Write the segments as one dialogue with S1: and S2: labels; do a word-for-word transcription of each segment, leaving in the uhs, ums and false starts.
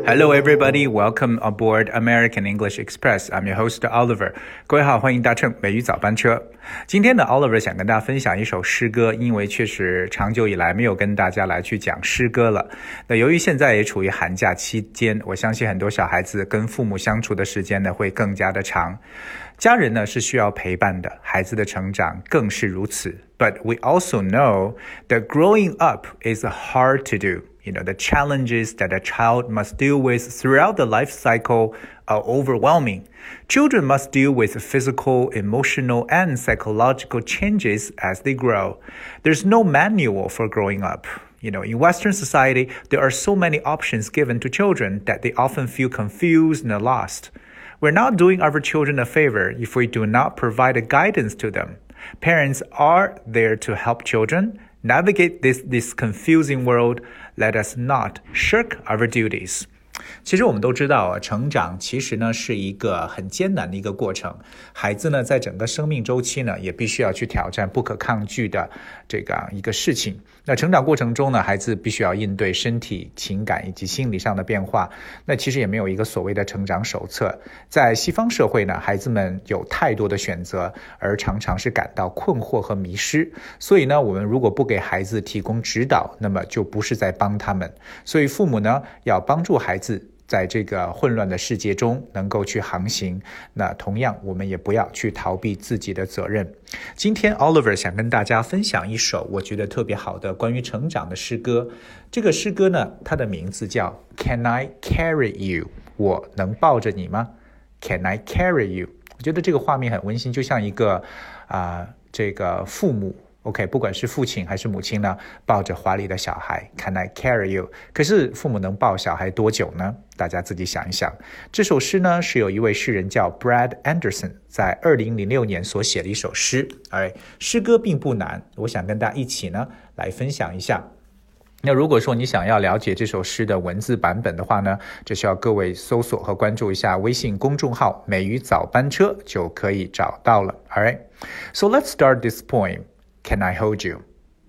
S1: Hello, everybody. Welcome aboard American English Express. I'm your host, Oliver. 各位好，欢迎搭乘美语早班车。今天呢 Oliver 想跟大家分享一首诗歌，因为确实长久以来没有跟大家来去讲诗歌了。那由于现在也处于寒假期间，我相信很多小孩子跟父母相处的时间呢会更加的长。家人呢是需要陪伴的，孩子的成长更是如此。But we also know that growing up is hard to do.You know, the challenges that a child must deal with throughout the life cycle are overwhelming. Children must deal with physical, emotional, and psychological changes as they grow. There's no manual for growing up. You know, in Western society, there are so many options given to children that they often feel confused and lost. We're not doing our children a favor if we do not provide a guidance to them. Parents are there to help children.Navigate this, this confusing world. Let us not shirk our duties. 其实我们都知道啊，成长其实呢是一个很艰难的一个过程。孩子呢在整个生命周期呢也必须要去挑战不可抗拒的这个一个事情。那成长过程中呢，孩子必须要应对身体、情感以及心理上的变化。那其实也没有一个所谓的成长手册。在西方社会呢，孩子们有太多的选择，而常常是感到困惑和迷失。所以呢，我们如果不给孩子提供指导，那么就不是在帮他们。所以父母呢要帮助孩子在这个混乱的世界中能够去航行，那同样我们也不要去逃避自己的责任。今天 Oliver 想跟大家分享一首我觉得特别好的关于成长的诗歌。这个诗歌呢，它的名字叫 Can I Carry You？ 我能抱着你吗？ Can I Carry You？ 我觉得这个画面很温馨，就像一个啊、呃，这个父母OK， 不管是父亲还是母亲呢，抱着怀里的小孩 Can I carry you？ 可是父母能抱小孩多久呢？大家自己想一想。这首诗呢是有一位诗人叫 Brad Anderson 在二零零六年所写的一首诗。Alright， 诗歌并不难，我想跟大家一起呢来分享一下。那如果说你想要了解这首诗的文字版本的话呢，只需要各位搜索和关注一下微信公众号美语早班车就可以找到了。Alright， so let's start this poem.Can I hold you?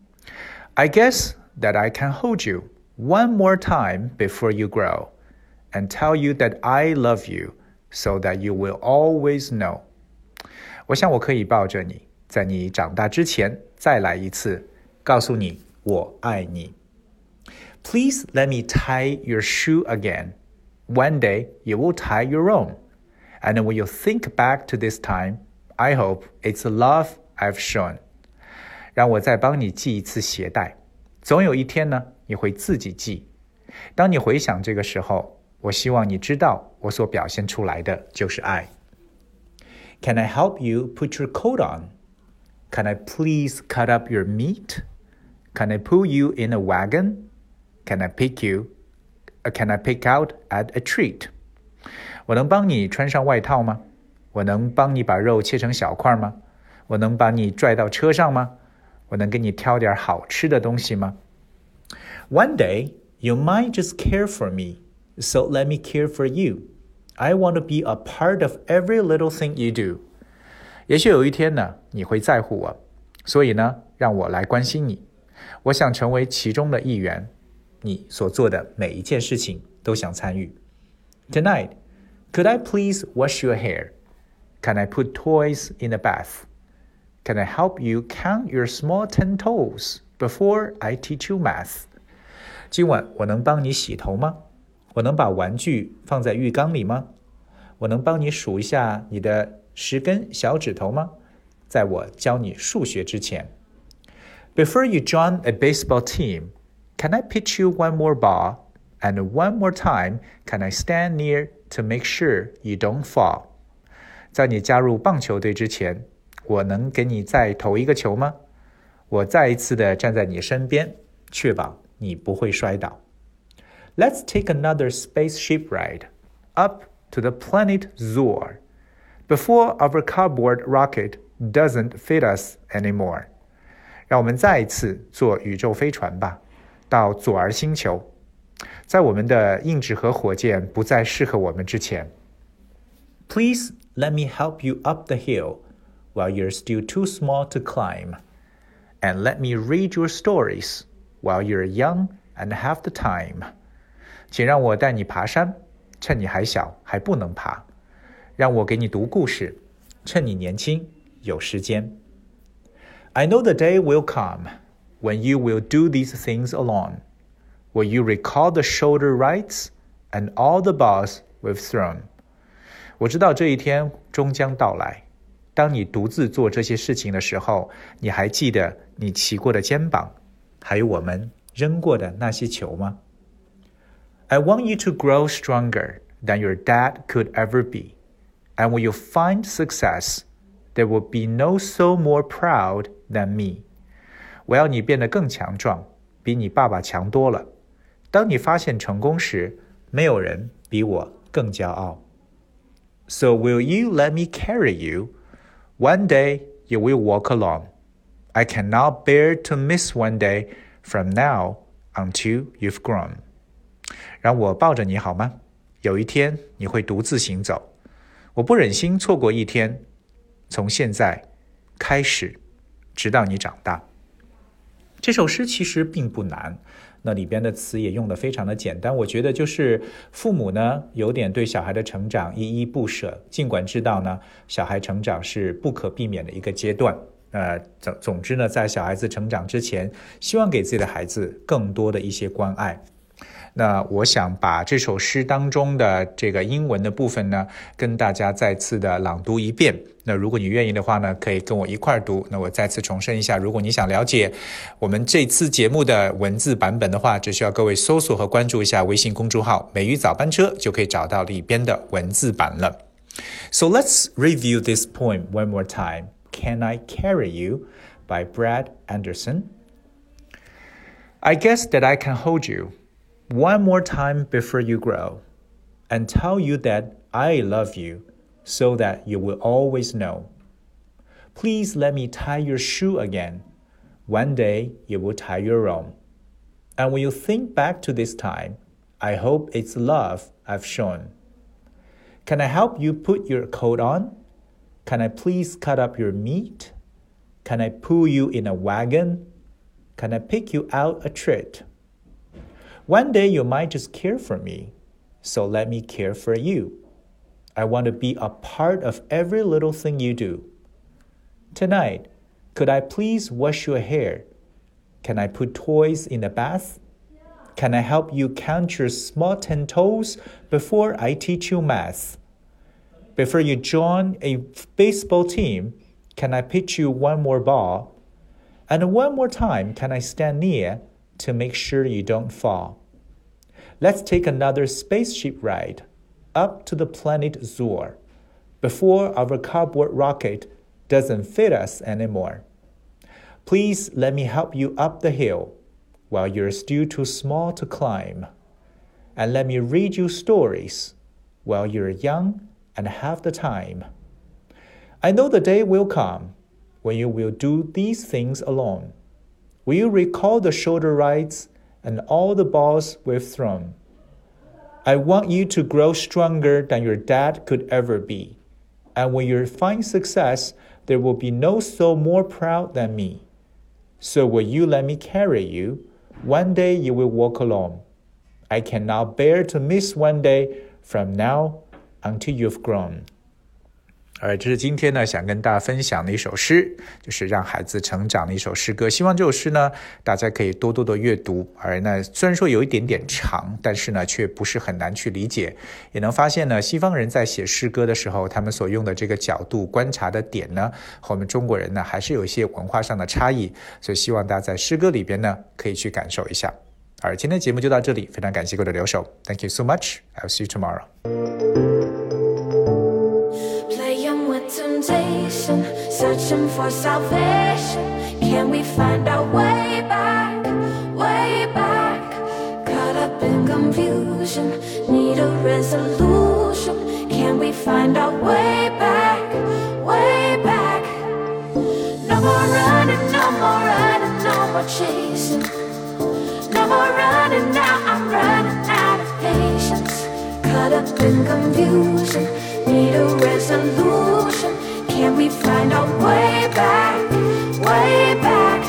S1: I guess that I can hold you one more time before you grow and tell you that I love you so that you will always know. 我想我可以抱着你，在你长大之前再来一次，告诉你我爱你。Please let me tie your shoe again. One day you will tie your own. And when you think back to this time, I hope it's the love I've shown.让我再帮你系一次鞋带，总有一天呢，你会自己系。当你回想这个时候，我希望你知道，我所表现出来的就是爱。Can I help you put your coat on? Can I please cut up your meat? Can I pull you in a wagon? Can I pick you? Can I pick out at a treat? 我能帮你穿上外套吗？我能帮你把肉切成小块吗？我能把你拽到车上吗？我能给你挑点好吃的东西吗？ One day, you might just care for me, so let me care for you. I want to be a part of every little thing you do. 也许有一天呢，你会在乎我，所以呢，让我来关心你。我想成为其中的一员，你所做的每一件事情都想参与。Tonight, could I please wash your hair? Can I put toys in the bath?Can I help you count your small ten toes before I teach you math? 今晚我能帮你洗头吗？我能把玩具放在浴缸里吗？我能帮你数一下你的十根小指头吗？在我教你数学之前。Before you join a baseball team, can I pitch you one more ball? And one more time, can I stand near to make sure you don't fall? 在你加入棒球队之前，我能给你再投一个球吗？我再一次的站在你身边，确保你不会摔倒。Let's take another spaceship ride up to the planet Zor before our cardboard rocket doesn't fit us anymore. 让我们再一次坐宇宙飞船吧，到佐尔星球，在我们的硬纸盒火箭不再适合我们之前。Please let me help you up the hill.While you're still too small to climb. And let me read your stories while you're young and have the time. 请让我带你爬山，趁你还小还不能爬。让我给你读故事，趁你年轻有时间。I know the day will come when you will do these things alone, where you recall the shoulder rights and all the balls we've thrown. 我知道这一天终将到来，当你独自做这些事情的时候，你还记得你骑过的肩膀，还有我们扔过的那些球吗？ I want you to grow stronger than your dad could ever be, and when you find success, there will be no soul more proud than me. 我要你变得更强壮，比你爸爸强多了。当你发现成功时，没有人比我更骄傲。So will you let me carry you? One day you will walk alone. I cannot bear to miss one day from now until you've grown. 让我抱着你好吗？有一天你会独自行走，我不忍心错过一天，从现在开始，直到你长大。这首诗其实并不难，那里边的词也用得非常的简单，我觉得就是父母呢有点对小孩的成长依依不舍，尽管知道呢小孩成长是不可避免的一个阶段，呃，总总之呢在小孩子成长之前，希望给自己的孩子更多的一些关爱。那我想把这首诗当中的这个英文的部分呢，跟大家再次的朗读一遍。那如果你愿意的话呢，可以跟我一块读。那我再次重申一下，如果你想了解我们这次节目的文字版本的话，只需要各位搜索和关注一下微信公众号美语早班车，就可以找到里边的文字版了。So let's review this poem one more time. Can I Carry You by Brad Anderson. I guess that I can hold you one more time before you grow, and tell you that I love you, so that you will always know. Please let me tie your shoe again. One day you will tie your own. And when you think back to this time, I hope it's love I've shown. Can I help you put your coat on? Can I please cut up your meat? Can I pull you in a wagon? Can I pick you out a treat?One day you might just care for me, so let me care for you. I want to be a part of every little thing you do. Tonight, could I please wash your hair? Can I put toys in the bath? Can I help you count your small ten toes before I teach you math? Before you join a baseball team, can I pitch you one more ball? And one more time, can I stand near to make sure you don't fall? Let's take another spaceship ride up to the planet Zor before our cardboard rocket doesn't fit us anymore. Please let me help you up the hill while you're still too small to climb. And let me read you stories while you're young and have the time. I know the day will come when you will do these things alone. Will you recall the shoulder rides and all the balls we've thrown? I want you to grow stronger than your dad could ever be. And when you find success, there will be no soul more proud than me. So will you let me carry you? One day you will walk alone. I cannot bear to miss one day from now until you've grown.而这是今天呢想跟大家分享的一首诗，就是让孩子成长的一首诗歌。希望这首诗呢大家可以多多的阅读，而呢虽然说有一点点长，但是呢却不是很难去理解，也能发现呢西方人在写诗歌的时候，他们所用的这个角度观察的点呢和我们中国人呢还是有一些文化上的差异，所以希望大家在诗歌里边呢可以去感受一下。而今天的节目就到这里，非常感谢各位的留守。 Thank you so much. I'll see you tomorrow.Searching for salvation, can we find our way back, way back? Caught up in confusion, need a resolution. Can we find our way back, way back? No more running, no more running, no more chasing. No more running now, I'm running out of patience. Caught up in confusion, need a resolution.Can we find our way back, way back?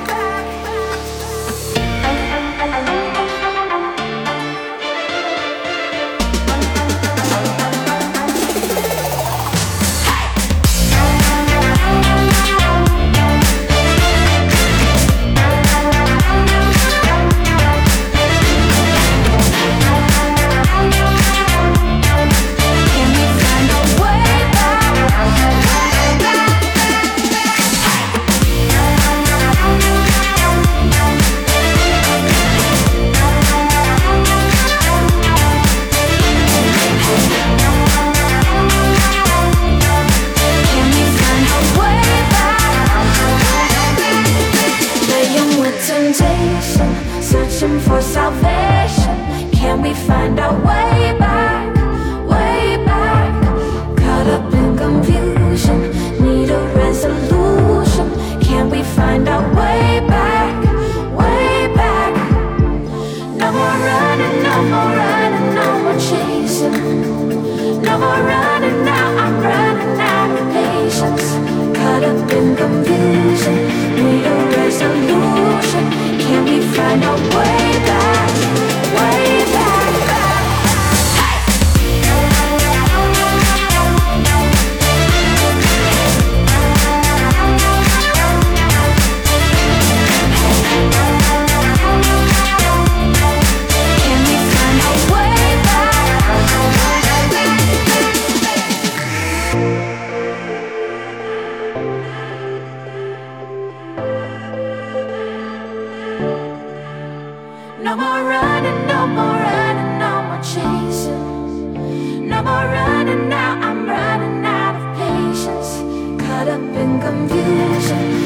S2: searching for salvation. Can we find our way back, way back? Caught up in confusion, need a resolution. Can we find our way back, way back? No more running, no more running, no more chasing. No more running now, I'm running out of patience. Caught up in confusion, need a resolution. Can we find our way back, way back, back? Can we find our way back? No more running, no more running, no more chasing. No more running now, I'm running out of patience. Caught up in confusion.